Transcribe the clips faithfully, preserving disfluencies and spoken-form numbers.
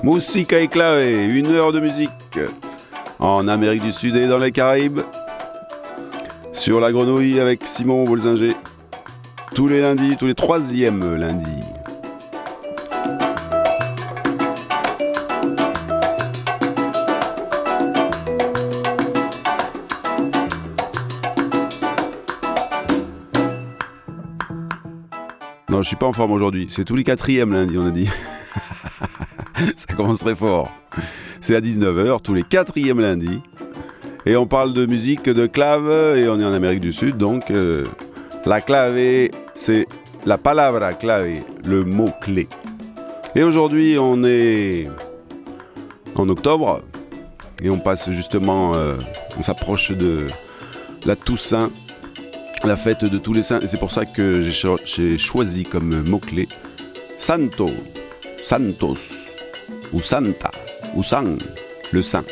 Musica et clave, une heure de musique en Amérique du Sud et dans les Caraïbes. Sur la grenouille avec Simon Bolzinger. Tous les lundis, tous les troisièmes lundis. Non, je suis pas en forme aujourd'hui. C'est tous les quatrièmes lundis, on a dit. Ça commence très fort. C'est à dix-neuf heures, tous les quatrièmes lundis. Et on parle de musique, de clave, et on est en Amérique du Sud, donc euh, la clave, c'est la palabra clave, le mot-clé. Et aujourd'hui, on est en octobre, et on passe justement, euh, on s'approche de la Toussaint, la fête de tous les saints, et c'est pour ça que j'ai, cho- j'ai choisi comme mot-clé Santo, Santos, ou Santa, ou San, le saint.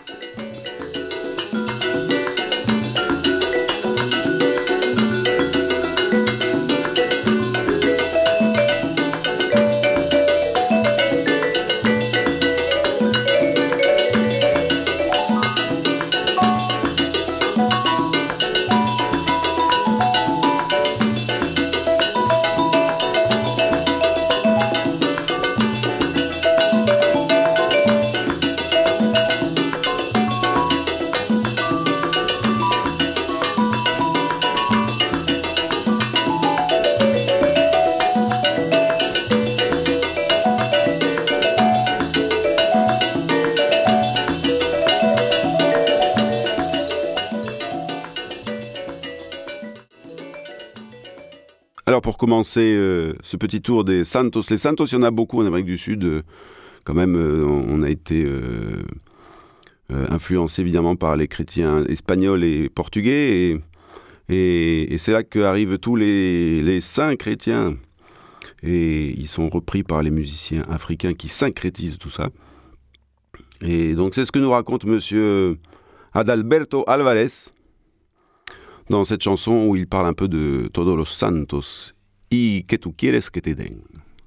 Alors pour commencer euh, ce petit tour des Santos, les Santos, il y en a beaucoup en Amérique du Sud. Euh, quand même, euh, on a été euh, euh, influencé évidemment par les chrétiens espagnols et portugais. Et, et, et c'est là qu'arrivent tous les, les saints chrétiens. Et ils sont repris par les musiciens africains qui syncrétisent tout ça. Et donc c'est ce que nous raconte monsieur Adalberto Alvarez dans cette chanson où il parle un peu de Todos los Santos. Y que tu quieres que te den.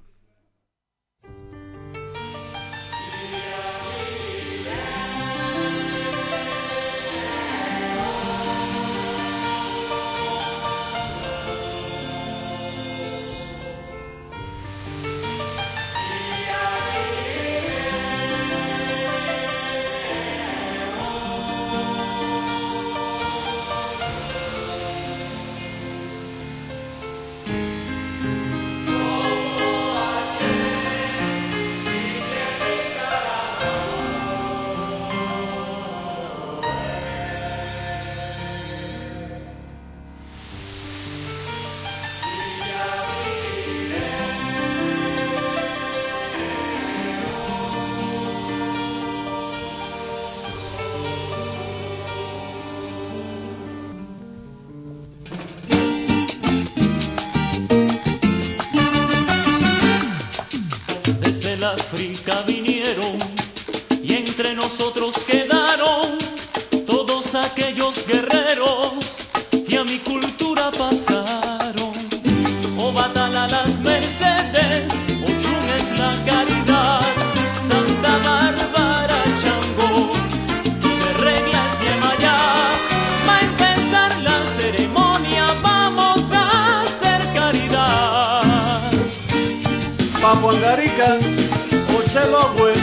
África vinieron y entre nosotros quedaron todos aquellos guerreros que a mi cultura pasaron. O Batala las Mercedes, Ochun es la caridad, Santa Bárbara Changó, de reglas Yemayá. Va a empezar la ceremonia, vamos a hacer caridad. Papuangarica, Ochelogüe,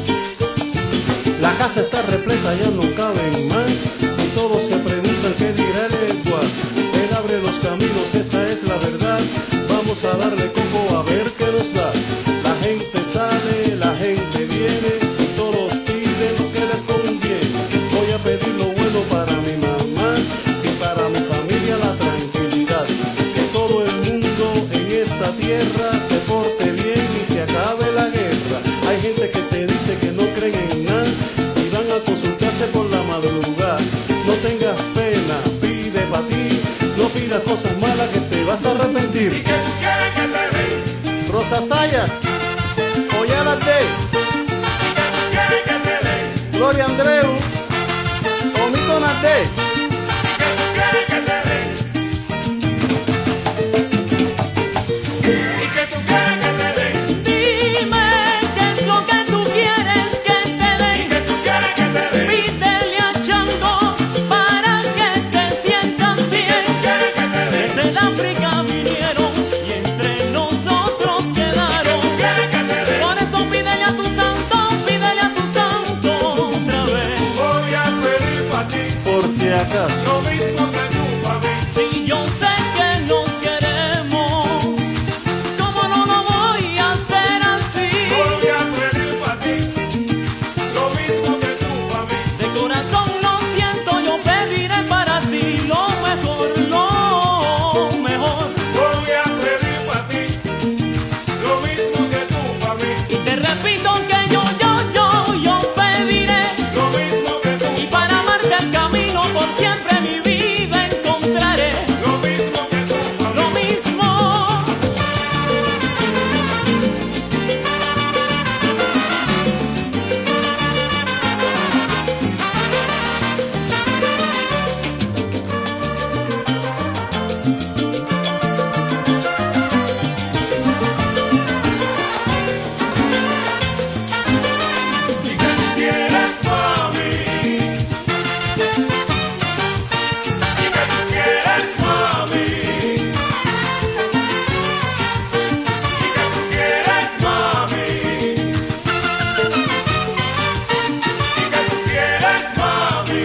la casa está repleta, ya no caben más. Y todos se preguntan qué dirá el Egua. Él abre los caminos, esa es la verdad. Vamos a darle coco a ver qué nos da. La gente sale, la gente viene, y todos piden lo que les conviene. Voy a pedir lo bueno para mi mamá y para mi familia la tranquilidad. Que todo el mundo en esta tierra se porte bien y se acabe la guerra. Hay gente que te dice que no creen en nada y van a consultarse por la madrugada. No tengas pena, pide pa' ti, no pidas cosas malas que te vas a arrepentir. ¿Y que tú quieres que te den? Rosa Sayas, Ollada de, ¿Y que tú quieres que te den? Gloria Andreu, Omito Nade. ¿Y que tú quieres que te den? ¿Y que tú quieres que te den? Dime qué es lo que tú quieres. Caracas. lo mismo que tú pa' mí. Si yo sé que nos queremos, ¿cómo no lo voy a hacer así? Voy a pedir pa' ti, lo mismo que tú pa' mí. De corazón lo siento, yo pediré para ti lo mejor, lo mejor. Voy a pedir pa' ti, lo mismo que tú pa' mí. Y te repito que yo, yo, yo, yo pediré Lo mismo que tú, y para amarte el camino por siempre mi vida encontraré. lo mismo que tú pa' Lo mí. mismo. Y que tú quieres mami, y que tú quieres mami, y que tú quieres mami, y que tú quieres mami,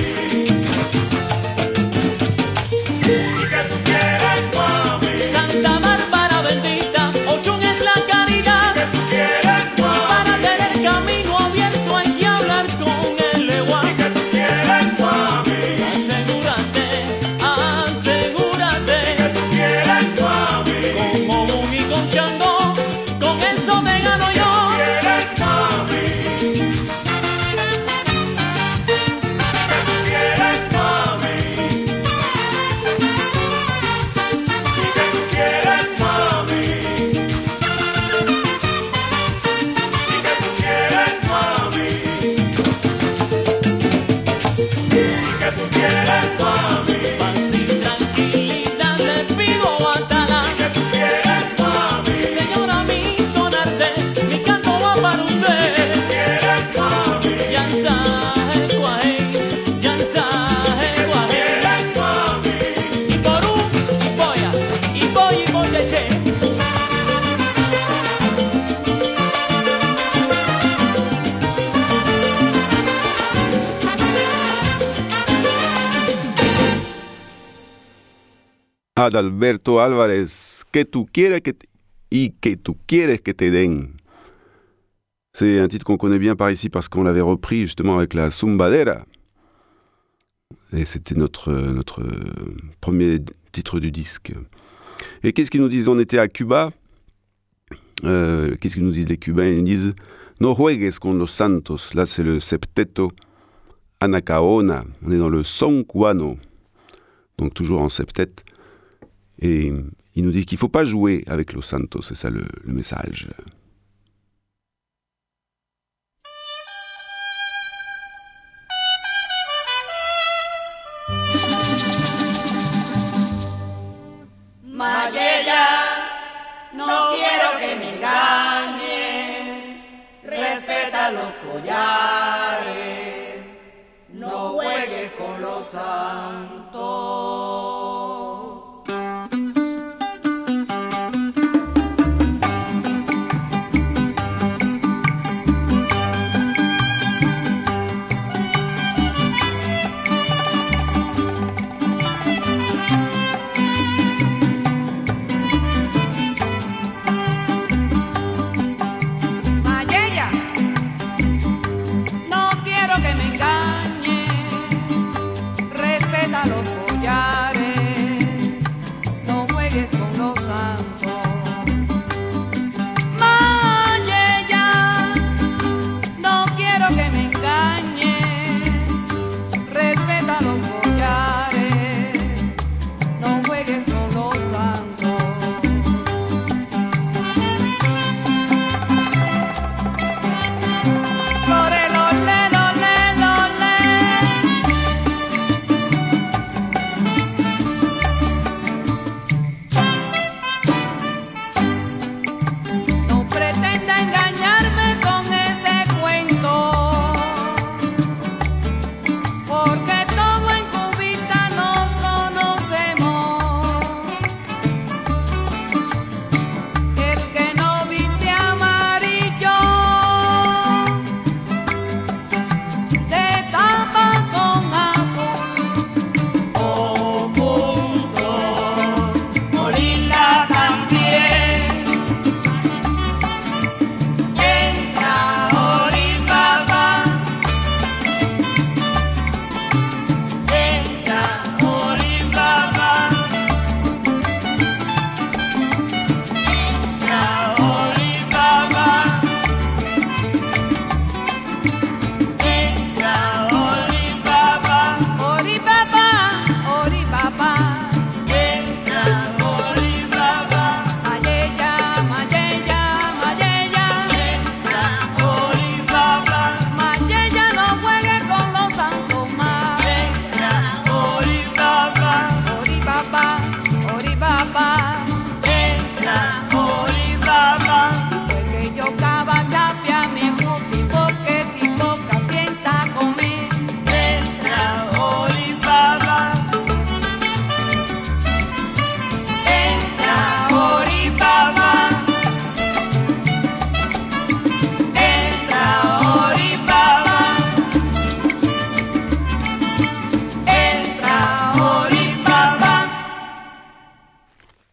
y que tú quieres mami, Santa Bárbara bendita, Ochun es la caridad. que tú quieres Y para mami, tener camino abierto hay que hablar con el leguán. y que tú quieres mami, Asegúrate, asegúrate, que tú quieres mami, como un y con Changó, con eso te gano yo. quieres mami, que tú quieres mami, y que tú quieres mami, y que tú quieres mami, y que tú quieres mami, Paz y tranquilidad le pido a Tala. que tú quieres mami, Señora mi tonarte, mi canto va para usted. quieres mami, Yansaje guaje, yansaje guaje. quieres mami. Y porú, y polla, y boy, y bocheche. Adalberto Álvarez, que tú quieres que te... y que tú quieres que te den. C'est un titre qu'on connaît bien par ici parce qu'on l'avait repris justement avec la Zumbadera. Et c'était notre, notre premier titre du disque. Et qu'est-ce qu'ils nous disent? On était à Cuba. Euh, qu'est-ce qu'ils nous disent les Cubains? Ils nous disent No juegues con los santos. Là, c'est le septeto Anacaona. On est dans le son cubano. Donc toujours en septet. Et ils nous disent qu'il ne faut pas jouer avec los santos. C'est ça le, le message. Mayella, no quiero que me engañes, respeta los collares, no juegues con los santos. Mayella, no quiero que me engañes, respeta los collares.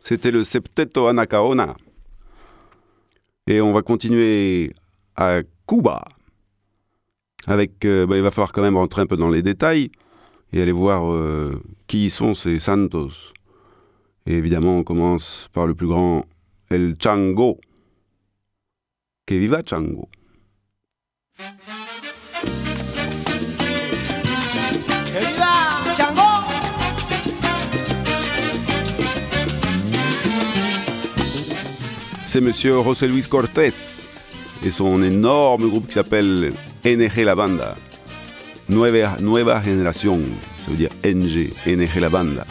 C'était le Septeto Anacaona. Et on va continuer à Cuba. Avec, euh, bah, il va falloir quand même rentrer un peu dans les détails et aller voir euh, qui sont ces Santos. Et évidemment, on commence par le plus grand, El Chango. Que viva Chango. ¡Que viva Chango! C'est monsieur José Luis Cortés et son énorme groupe qui s'appelle N G La Banda. Nueva, nueva Generación, ça veut dire N G, N G La Banda.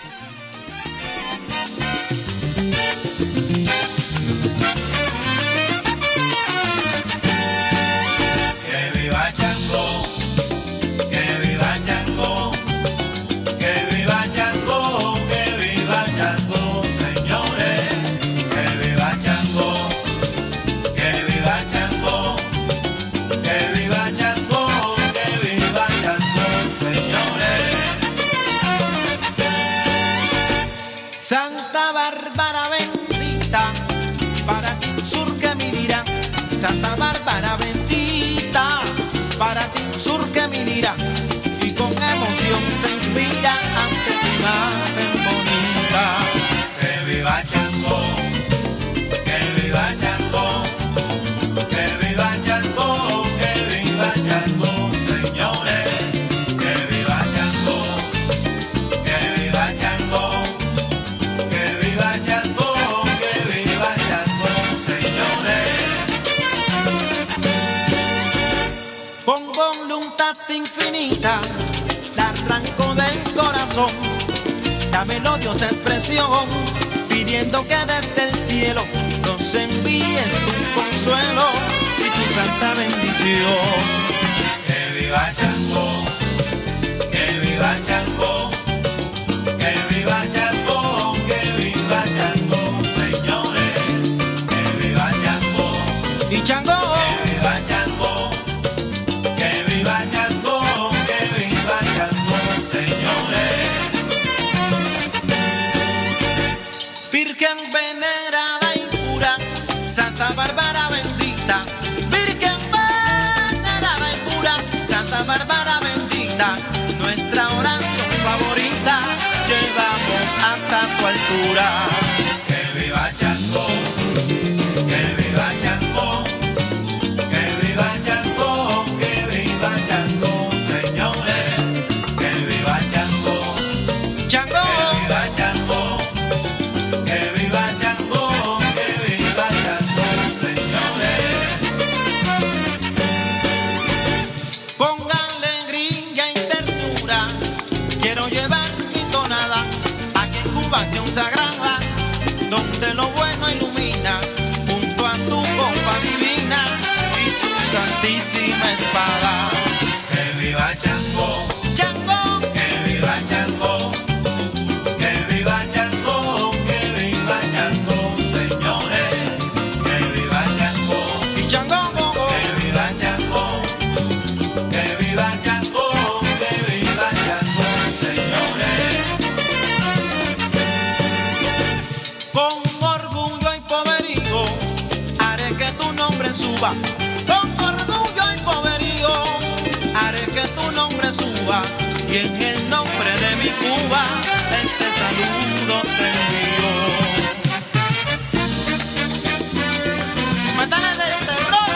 Santa Bárbara bendita, para ti surque mi lira. Santa Bárbara bendita, para ti surque mi lira. Y con emoción se inspira ante tu imagen bonita. Que viva Chango, que viva Chango, que viva Chango, que viva Chango, señores. Que viva Chango, que viva Chango. Con voluntad infinita, la arranco del corazón, la melodiosa expresión, pidiendo que desde el cielo nos envíes tu consuelo y tu santa bendición. Que viva Chango, que viva Chango, que viva Chango, que viva Chango, señores. Que viva Chango y Chango. Que viva Chango. Virgen venerada y pura, Santa Bárbara bendita. Virgen venerada y pura, Santa Bárbara bendita. Nuestra oración favorita llevamos hasta tu altura. Que viva Chango, que viva Chango, que viva Chango, que viva Chango, señores. Que viva Chango, Chango, que viva Chango. Que viva Chango, que viva Chango, señores. Con alegría y ternura quiero llevar mi tonada a que en Cuba acción sagrada, donde lo bueno ilumina, junto a tu copa divina y tu santísima espada. Que viva Chango, Chango, que viva Chango. Que viva Chango, que viva Chango, señores. Que viva Chango y Chango, que viva Chango, que viva Chango, que viva Chango, señores. Con orgullo y poderío haré que tu nombre suba. Con orgullo y poderío haré que tu nombre suba. Y en el nombre de mi Cuba este saludo te envío. ¡Mátale del terror!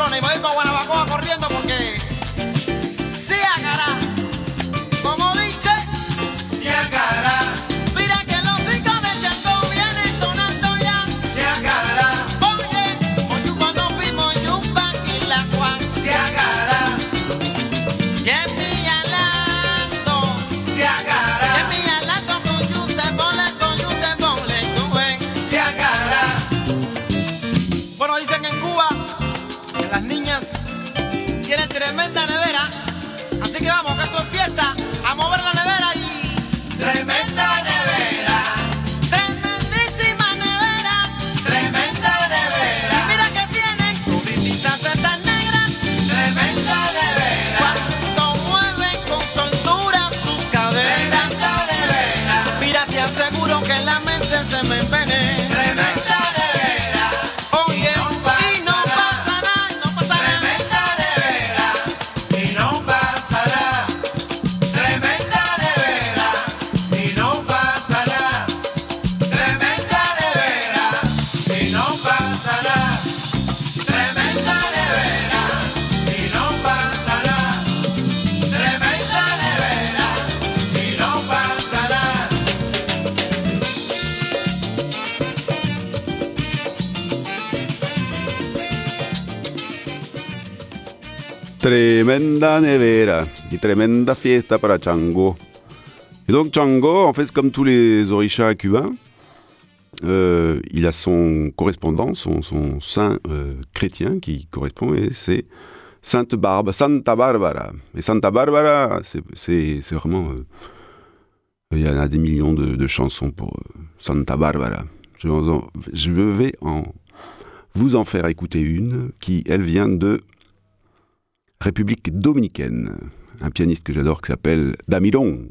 Pamplona y me voy para Guanabacoa corriendo porque se agarra, como dice, se agarra. Mira que los hijos de Changó vienen donando ya, se agarra. Oye, oye cuando fuimos Yupa y la Juan, se agarra. Y en mi alando, se agarra. Y en mi alando con yute, ponle, con yute, ponle, tú ven, se agarra. Bueno, dicen que en Cuba que las niñas tienen tremenda nevera, así que vamos, que esto es fiesta, a mover la nevera y... Tremenda nevera, tremendísima nevera, tremenda nevera. Y mira que tienen todititas estas negras, tremenda nevera. Cuando mueven con soltura sus caderas, tremenda nevera. Mira, te aseguro que en la mente se me envenena. Tremenda nevera. Oye, y no pasa nada, y no pasa nada. Tremenda nevera, y no pasa nada. Tremenda nevera, y no pasa nada. Tremenda nevera, y no pasa nada. Tremenda nevera, y no pasa nada. Tremenda nevera, y no pasa nada. Tremenda nevera et tremenda fiesta para Chango. Et donc Chango, en fait, comme tous les orishas cubains, euh, il a son correspondant, son, son saint euh, chrétien qui correspond, et c'est Sainte Barbe, Santa Barbara. Et Santa Barbara, c'est, c'est, c'est vraiment... Euh, il y en a des millions de, de chansons pour euh, Santa Barbara. Je vais, en, je vais en, vous en faire écouter une qui, elle, vient de République dominicaine. Un pianiste que j'adore qui s'appelle Damiron.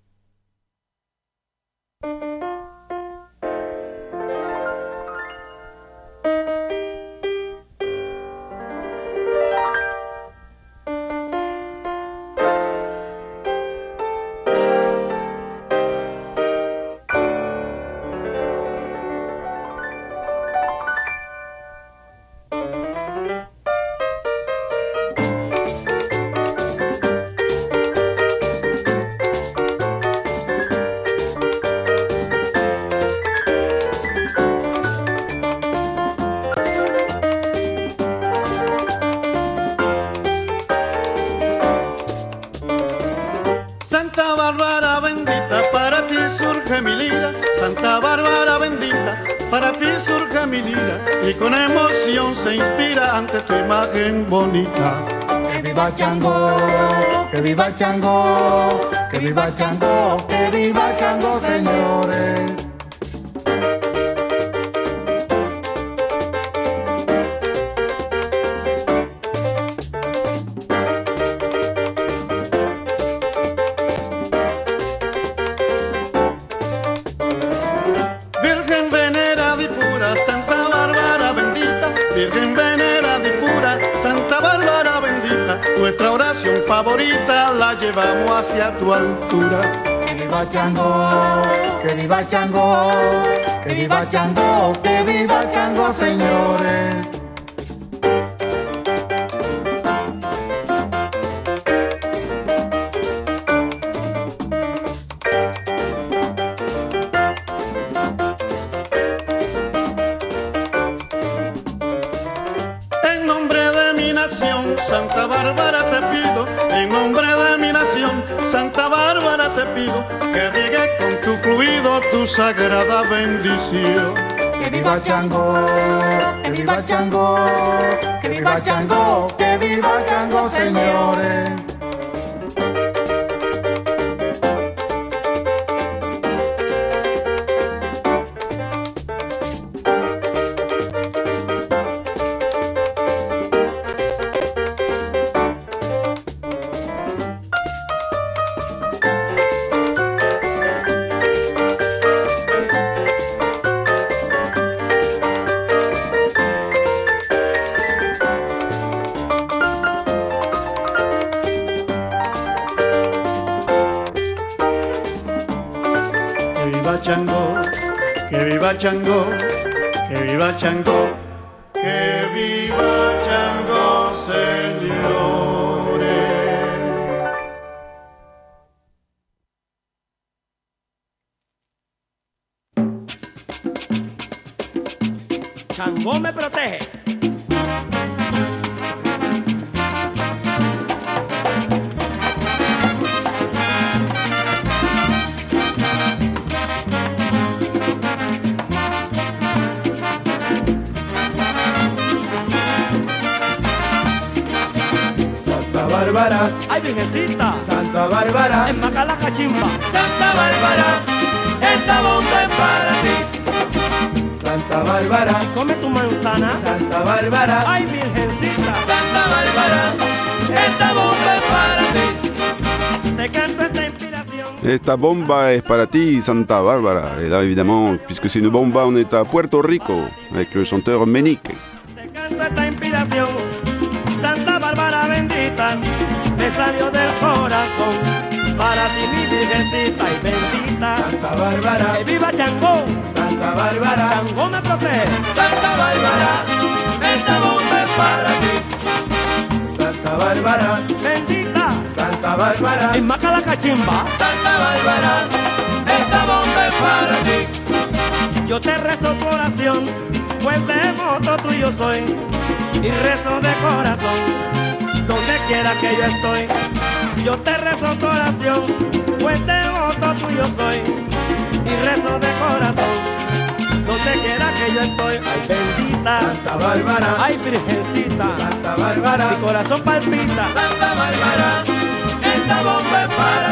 Santa Bárbara bendita, para ti surge mi lira. Santa Bárbara bendita, para ti surge mi lira. Y con emoción se inspira ante tu imagen bonita. Que viva Chango, que viva Chango, que viva Chango, que viva Chango, señores. Virgen venerada y pura, Santa Bárbara bendita. Virgen venerada y pura, Santa Bárbara bendita. Nuestra oración favorita la llevamos hacia tu altura. Que viva Chango, que viva Chango, que viva Chango, que viva Chango, señores. En nombre de mi nación, Santa Bárbara te pido. En nombre de mi nación, Santa Bárbara te pido. Que riegue con tu fluido tu sagrada bendición. Que viva Chango, que viva Chango, que viva Chango, que viva Chango, señores. Chango, que viva Chango, que viva Chango, que viva Chango. Changó me protege. Santa Bárbara, Ay, virgencita, Santa Bárbara, en Macala cachimba. Santa Bárbara, esta bomba es para ti. Santa Bárbara, Come tu manzana. Santa Bárbara, Ay, virgencita, Santa Bárbara, esta bomba es para ti. te canto esta inspiración. Esta bomba est para ti, Santa Barbara. Et là, évidemment, puisque c'est une bomba, on est à Puerto Rico, avec le chanteur Menik. Te canto esta inspiración. Santa Bárbara bendita, me salió del corazón. Para ti mi virgencita y bendita. Santa Bárbara, Que viva Changó, Santa Bárbara, Changó me protege. Santa Bárbara, esta bomba es para ti. Santa Bárbara, Bendita, Santa Bárbara, en Macala cachimba. Santa Bárbara, esta bomba es para ti. Yo te rezo tu oración, pues devoto tuyo soy. Y rezo de corazón, donde quiera que yo estoy. Yo te rezo tu oración, pues devoto tuyo soy. Y rezo de corazón, donde quiera que yo estoy. Ay, bendita, Santa Bárbara, ay, virgencita, Santa Bárbara, mi corazón palpita. Santa Bárbara, esta bomba es para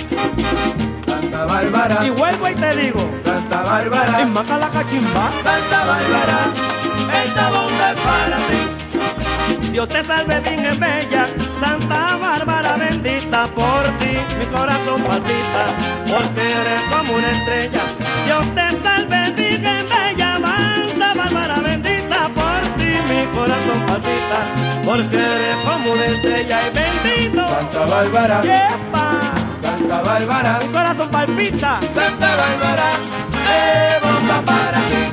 ti. Santa Bárbara, Y vuelvo y te digo, Santa Bárbara, en Macala cachimba. Santa Bárbara, esta bomba es para ti. Dios te salve, Virgen bella, Santa Bárbara bendita. Por ti mi corazón palpita, porque eres como una estrella. Dios te salve, Virgen bella, Santa Bárbara bendita. Por ti mi corazón palpita, porque eres como una estrella. Y bendito, Santa Bárbara, yepa, Santa Bárbara, mi corazón palpita. Santa Bárbara, esta bomba para ti.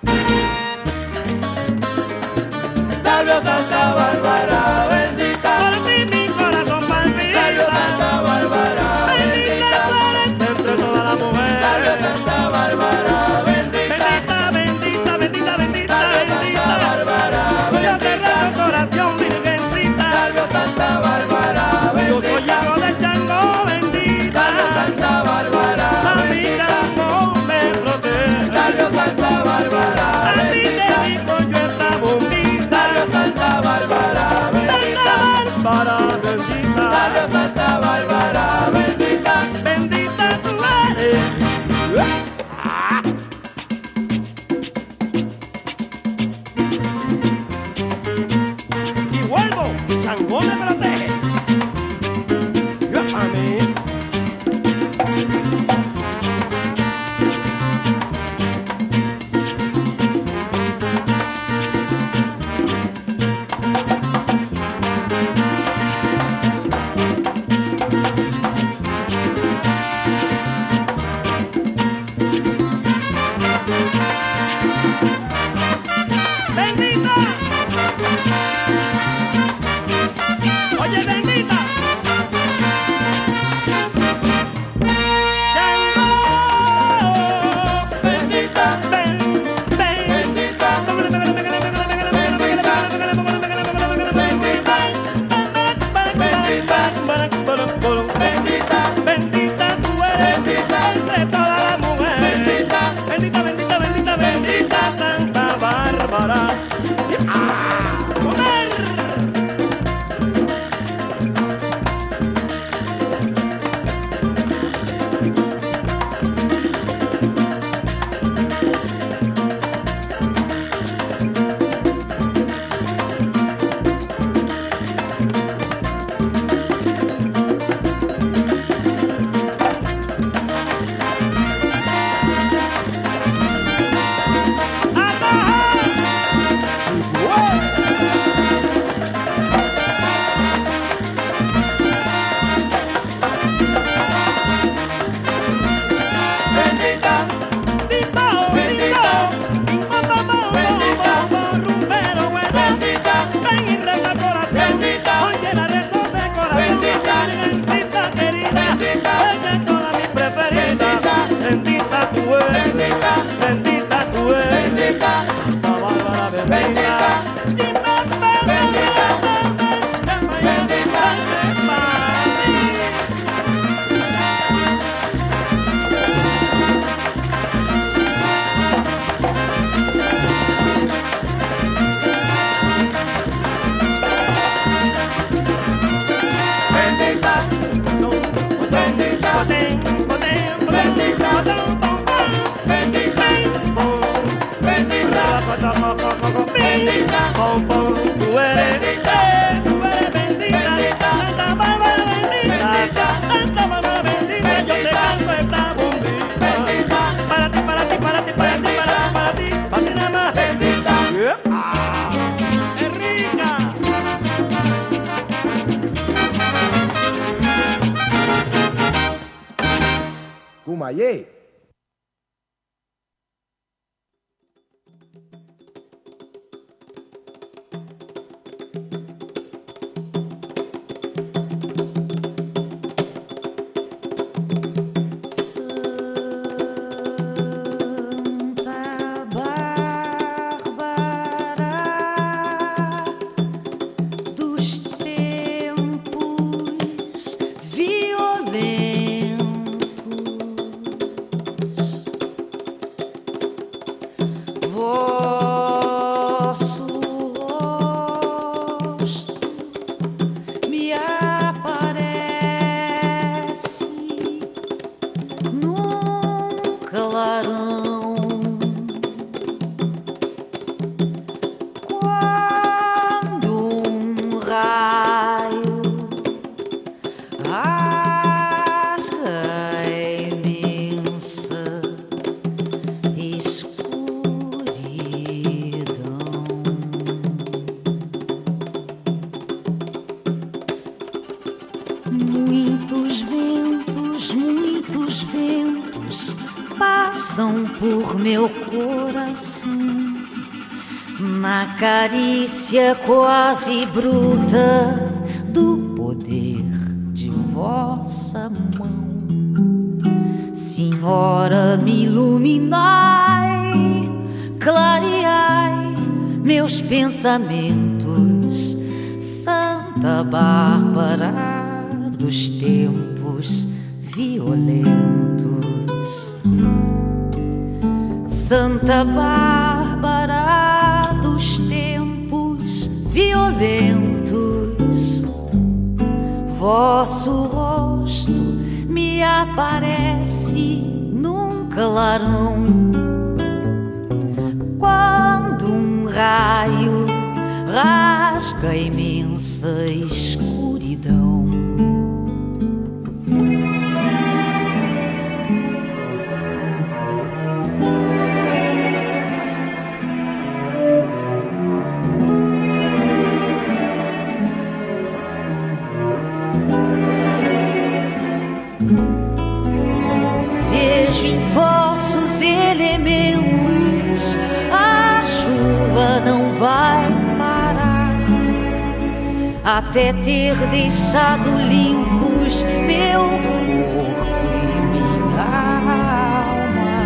salve a Santa Bárbara, bendita, Por ti mi corazón palpita. salve a Santa Bárbara, Bendita tú bendita, eres entre todas las mujeres. salve a Santa Bárbara, bendita, Bendita, bendita, bendita, bendita, salve a Santa bendita. Bárbara, Yo te bendita, rezo tu oración, virgencita. salve a Santa Bárbara, Yo soy bendita, hijo de Changó, bendita. salve a Santa Bárbara, A mi bendita, Changó me protege. salve a Santa Bárbara, A ti te bendita, digo yo esta bombita. salve a Santa Bárbara, bendita, Santa Bárbara bendita. salve a Santa Bárbara, bendita. Bendita tú eres. Y vuelvo, Changó me protege. Yo a mí. Bendita. Oye, pom, pom, tú eres, eh, tú eres bendita, Santa Bárbara bendita, Santa Bárbara bendita, yo te canto esta bombita. Para ti, para ti, para ti, para ti, para ti, para ti, para ti nada más. Yeah. Ah, ¡qué rica! Cumayé. Carícia quase bruta do poder de vossa mão, Senhora, me iluminai, clareai meus pensamentos, Santa Bárbara dos tempos violentos, Santa Bárbara dos tempos violentos, vosso rosto me aparece num clarão, quando um raio rasga a imensa escuridão. Elementos, a chuva não vai parar até ter deixado limpos meu corpo e minha alma,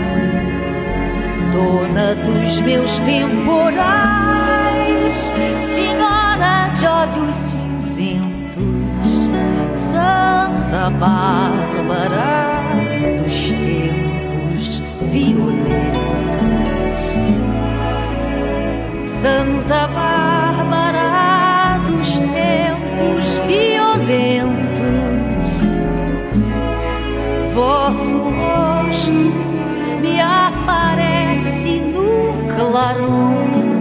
dona dos meus temporais, senhora de olhos cinzentos, Santa Bárbara dos tempos violentos, Santa Bárbara dos tempos violentos, vosso rosto me aparece no clarão,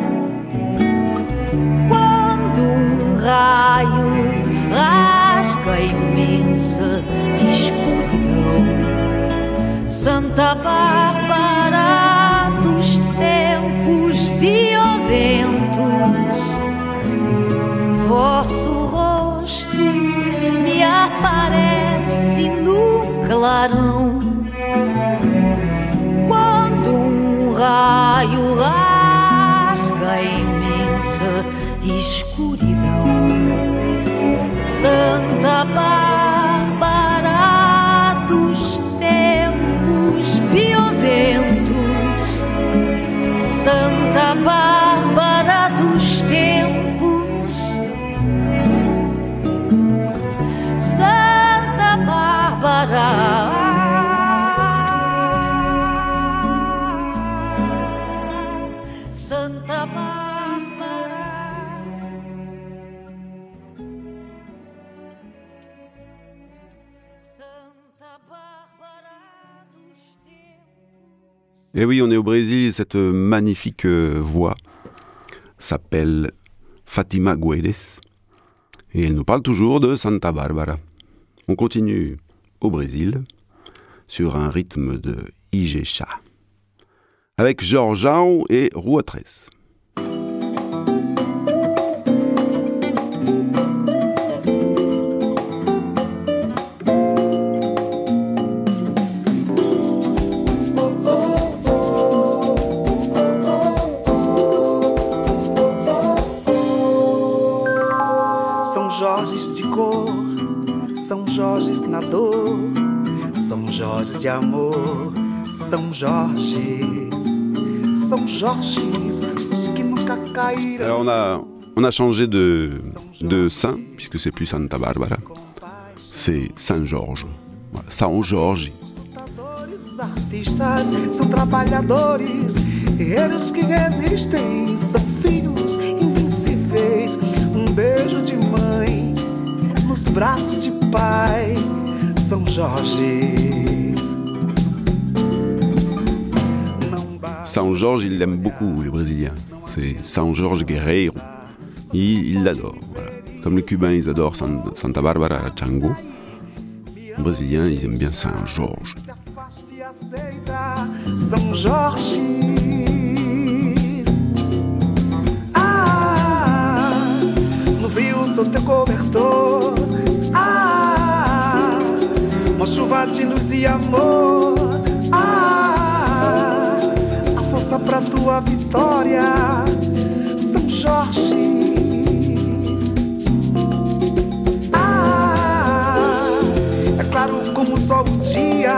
quando um raio rasga a imensa escuridão, Santa Bárbara dos tempos violentos, vosso rosto me aparece no clarão, quando um raio rasga a imensa escuridão, Santa Bárbara dos tempos violentos, Santa Bárbara dos tempos, Santa Bárbara, Santa Bárbara, Santa Bárbara dos tempos. Et oui, on est au Brésil, cette magnifique euh, voix s'appelle Fatima Guedes et elle nous parle toujours de Santa Bárbara. On continue au Brésil sur un rythme de Ijexá avec Jorjão et Rua Três. Jorges de cor, São Jorges na dor, São Jorges de amor, São Jorges, São Jorges, os que nunca caíram. Alors on a, on a changé de, de saint, puisque c'est plus Santa Bárbara, c'est Saint Jorge, voilà, São Jorge. Os artistas são trabalhadores, guerreiros que resistem, são filhos invencíveis. Um beijo de mãe nos braços de pai, São Jorges. São Jorge, il l'aime beaucoup, les Brésiliens. C'est São Jorge Guerreiro. Ils il l'adorent. Voilà. Comme les Cubains, ils adorent Santa Bárbara Chango. Les Brésiliens, ils aiment bien Saint Jorge. São Jorge. Ah, no frio sou teu cobertor. Ah, uma chuva de luz e amor. Ah, a força pra tua vitória, São Jorge. Ah, é claro como o sol o dia.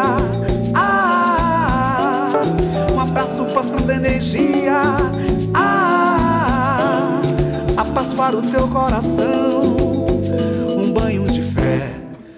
Ah, um abraço passando energia. Ah, a paz para o teu coração, um banho de fé.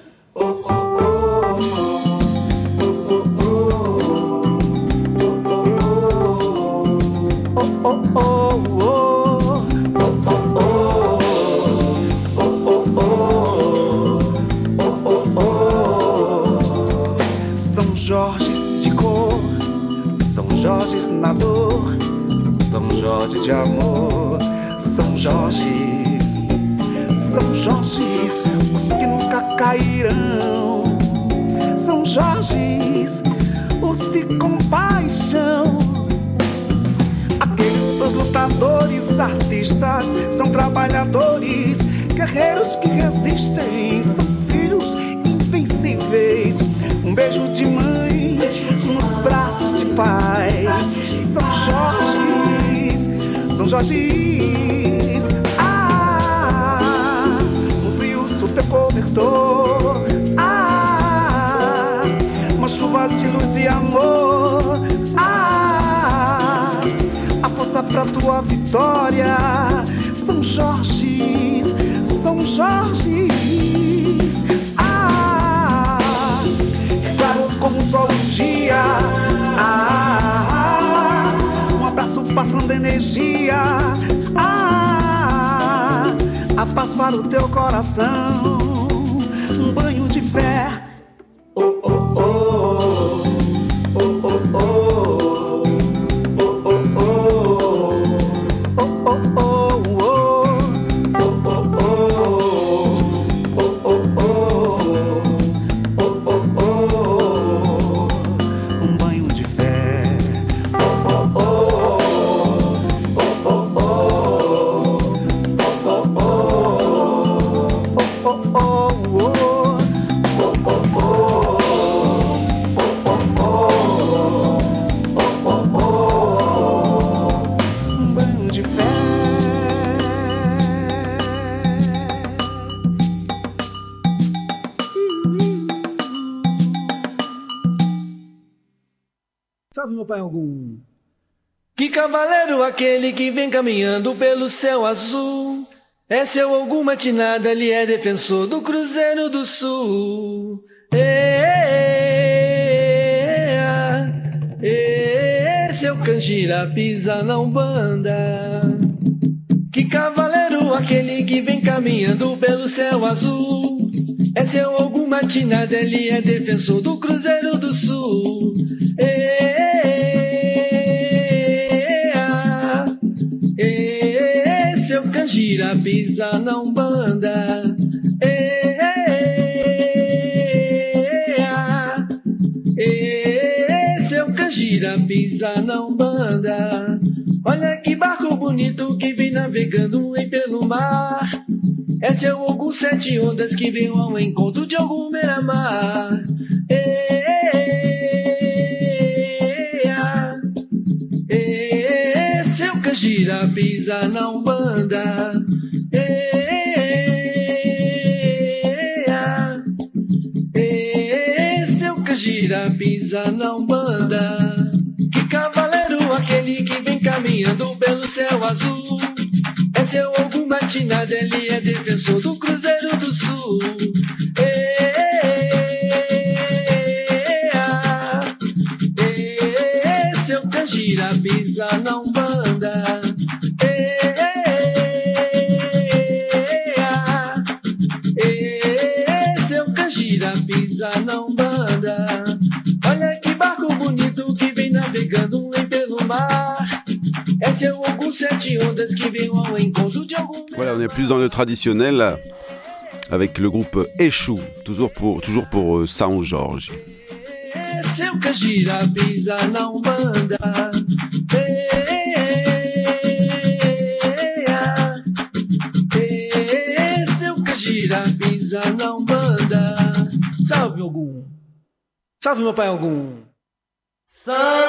São Jorges de cor, São Jorges na dor, São Jorges de amor, São Jorges, São Jorges, os que nunca cairão, São Jorges, os de compaixão. Aqueles dois lutadores, artistas, são trabalhadores, guerreiros que resistem, são filhos invencíveis. Um beijo de mãe nos braços de pai, São Jorges, São Jorges. Ah, no frio sou teu cobertor. Ah, uma chuva de luz e amor. Ah, a força pra tua vitória, São Jorges, São Jorges. Ah, é claro como o sol o dia. Ah, um abraço passando energia. Ah, a paz para o teu coração, um banho de fé. Oh, oh, oh, oh, oh, oh. Salve, meu pai algum. Que cavaleiro aquele que vem caminhando pelo céu azul? É seu Ogum matinada, ele é defensor do Cruzeiro do Sul. Esse é o Canjira, pisa na Umbanda. Que cavaleiro aquele que vem caminhando pelo céu azul? É seu Ogum matinada, ele é defensor do Cruzeiro do Sul. E, e, Canjira pisa na Umbanda. Ei, ei, ei, seu Canjira pisa na Umbanda. Olha que barco bonito que vem navegando em pelo mar. É seu Ogum Sete Ondas que vem ao encontro de algum beira-mar. Ei, seu Canjira pisa na Umbanda. Seu Canjira pisa na Umbanda. Que cavaleiro aquele que vem caminhando pelo céu azul. É seu Ogum Matinado, ele é defensor do Cruzeiro do Sul. Seu Canjira pisa na Umbanda. Seu Canjira pisa na Umbanda. Olha que barco bonito que vem navegando em pelo mar. É seu Ogum Sete Ondas qui vient au encontro de algum. Voilà, on est plus dans le traditionnel là, avec le groupe Exu, toujours pour, toujours pour euh, São Jorge. Seu Canjira pisa na Umbanda. Seu Canjira pisa na Umbanda. Salve Ogum. Salve meu pai Ogum. Salve.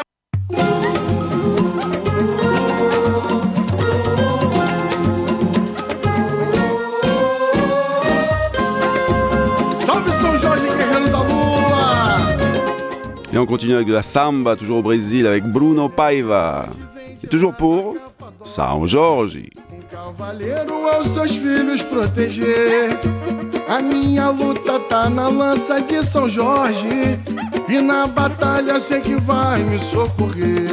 Et on continue avec de la samba, toujours au Brésil, avec Bruno Paiva. Et toujours pour São Jorge. Cavaleiro aos seus filhos proteger. A minha luta tá na lança de São Jorge. E na batalha sei que vai me socorrer.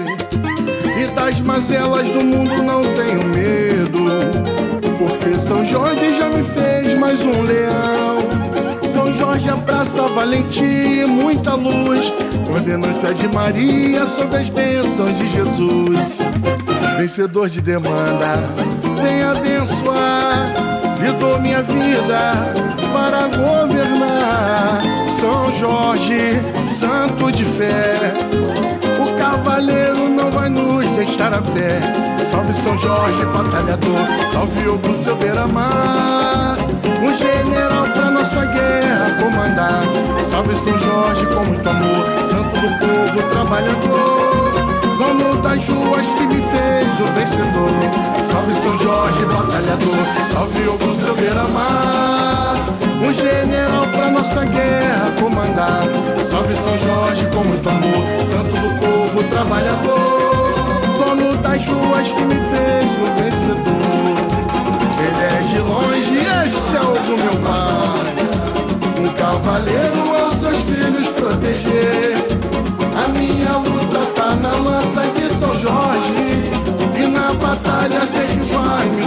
E das mazelas do mundo não tenho medo. Porque São Jorge já me fez mais um leão. São Jorge abraça valentia e muita luz. Ordenância de Maria sobre as bênçãos de Jesus. Vencedor de demanda, vem abençoar. E dou minha vida para governar. São Jorge, santo de fé. O cavaleiro não vai nos deixar a pé. Salve São Jorge, batalhador. Salve Ogum, seu beira-mar. Um general pra nossa guerra comandar. Salve São Jorge com muito amor. Santo do povo trabalhador. Dono das ruas que me fez o vencedor. Salve São Jorge, batalhador. Salve Ogum, seu beira-mar. Um general pra nossa guerra comandar. Salve São Jorge com muito amor. Santo do povo trabalhador. Dono das ruas que me fez o vencedor. Ele é de longe, esse é Ogum, meu pai. Um cavaleiro aos seus filhos proteger. A minha luta tá na lança de São Jorge. E na batalha sei que vai me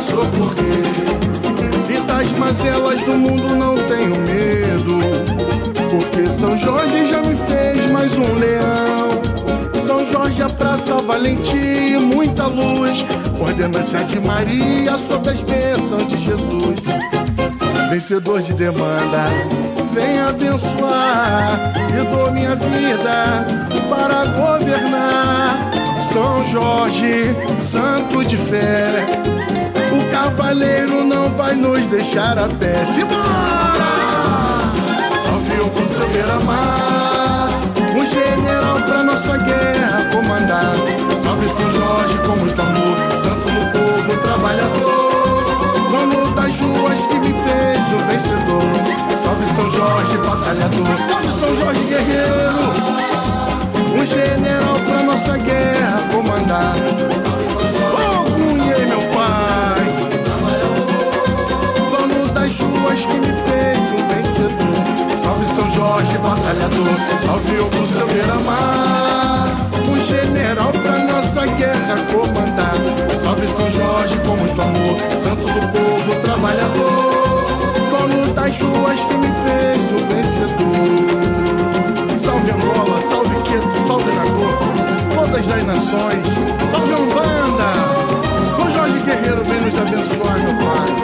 socorrer. E das mazelas do mundo não tenho medo. Porque São Jorge já me fez mais um leão. São Jorge abraça valentia e muita luz. Ordenância de Maria sobre as bênçãos de Jesus. Vencedor de demanda, vem abençoar. E dou minha vida para governar. São Jorge, santo de fé. O cavaleiro não vai nos deixar a pé. Simbora! Salve Ogum, seu beira-mar. Um general pra nossa guerra comandar. Salve São Jorge com muito amor. Santo do povo trabalhador. Dono das ruas que me fez o vencedor. Salve São Jorge, batalhador. Salve São Jorge, guerreiro. Um general pra nossa guerra comandar. Ogum, meu pai. Dono das ruas que me fez um vencedor. Salve São Jorge, batalhador. Salve Ogum, seu beira-mar. Um general pra nossa guerra comandar. Salve São Jorge com muito amor. Santo do povo trabalhador. Dono das ruas que me fez o vencedor. Salve Angola, salve Queto, salve Nagô, todas as nações. Salve Umbanda. São Jorge Guerreiro vem nos abençoar, meu pai.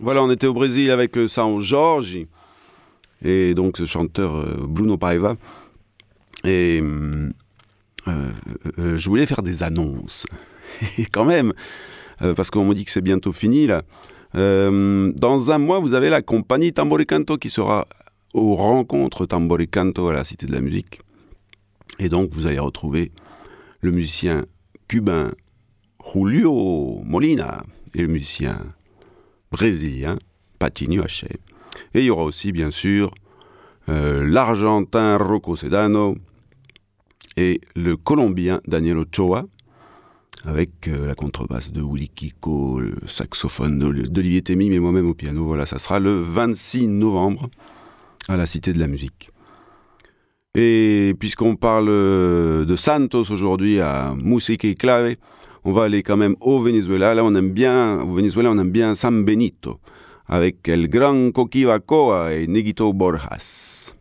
Voilà, on était au Brésil avec euh, São Jorge, et donc ce chanteur euh, Bruno Paiva. Et euh, euh, je voulais faire des annonces, et quand même, euh, parce qu'on me dit que c'est bientôt fini là. Euh, dans un mois, vous avez la compagnie Tambor y Canto qui sera aux rencontres Tambor y Canto à la Cité de la Musique. Et donc, vous allez retrouver le musicien cubain Julio Molina et le musicien brésilien Patinho Haché. Et il y aura aussi, bien sûr, euh, l'Argentin Rocco Sedano et le Colombien Daniel Ochoa, avec euh, la contrebasse de Willy Kiko, le saxophone d'Olivier Thémy, mais moi-même au piano. Voilà, ça sera le vingt-six novembre à la Cité de la Musique. Et puisqu'on parle de Santos aujourd'hui à Musica y Clave, on va aller quand même au Venezuela. Là, on aime bien, au Venezuela, on aime bien San Benito, avec El Gran Coquivacoa et Neguito Borjas.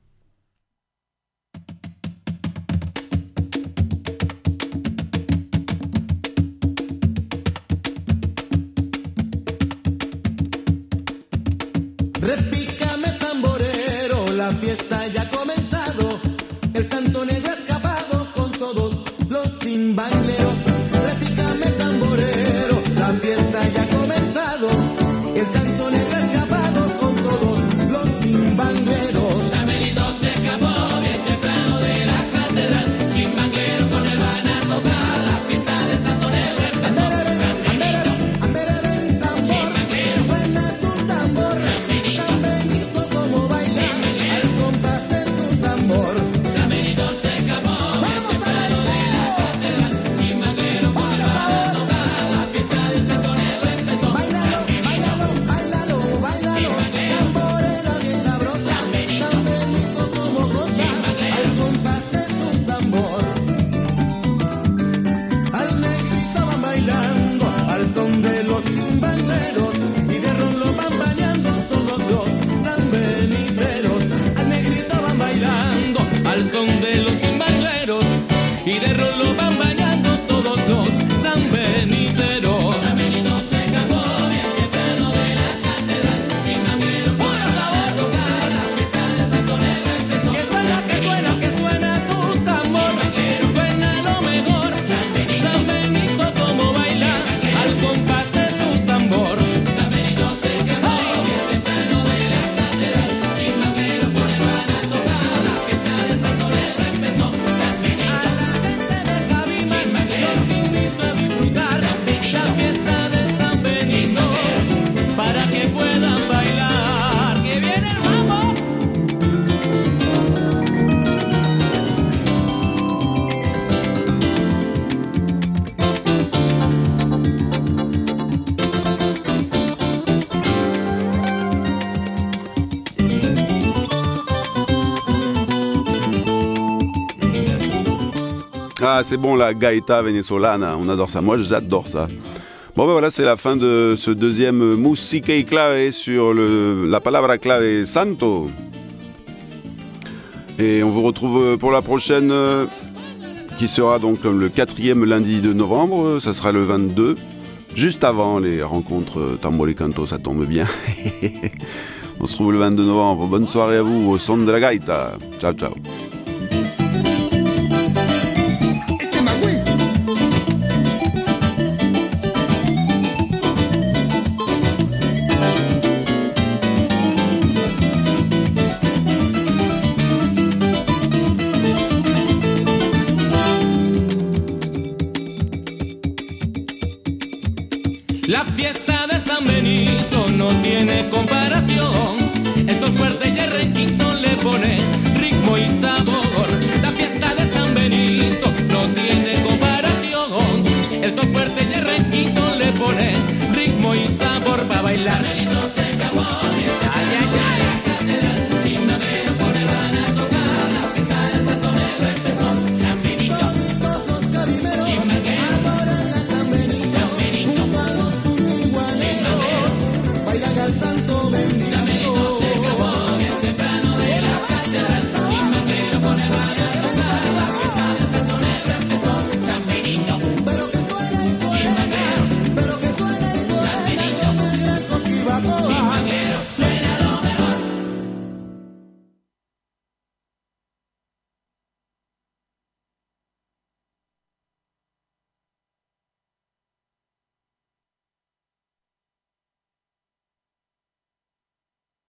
Repícame tamborero, la fiesta ya ha comenzado. El santo negro ha escapado con todos los chimbaleros. Repícame tamborero, la fiesta ya ha comenzado. El santo negro ha escapado con todos los chimbaleros. San Benito se escapó bien temprano de la catedral. Chimbaleros con él van a tocar, la fiesta del santo negro empezó. San Benito, chimbaleros, suena tu tambor. San Benito, como baila al compás de tu tambor. San Benito se escapó bien temprano de la catedral. Chimbaleros con él van a tocar, la fiesta del santo negro empezó. San Benito, bailalo, bailalo, tamborera bien sabrosa. San Benito, como goza al compás de tu tambor. Al negrito van bailando al son de los chimbaleros y de ron lo van bañando todos los sanbeniteros. Al negrito van bailando al son de los chimbaleros y de ron lo van bañando todos los sanbeniteros. San Benito se escapó bien temprano de la catedral. Chimbaleros van a tocar, la fiesta del santo negro empezó. Que suena, que suena, que suena tu tambor. Suena lo mejor. San Benito, como baila al compás de tu tambor. San Benito se escapó bien temprano de la catedral. Chimbaleros con él van a tocar, la fiesta del santo negro empezó. San Benito, a la gente de Cabima los invito a disfrutar la fiesta de San Benito para que puedan bailar. Que viene el mambo. Ah, c'est bon, la gaita venezolana, on adore ça. Moi, j'adore ça. Bon, ben voilà, c'est la fin de ce deuxième Musica y Clave sur le, la palabra clave santo. Et on vous retrouve pour la prochaine, euh, qui sera donc le quatrième lundi de novembre. Ça sera le vingt-deux, juste avant les rencontres Tambor y Canto, ça tombe bien. On se retrouve le vingt-deux novembre. Bonne soirée à vous au son de la gaita. Ciao, ciao.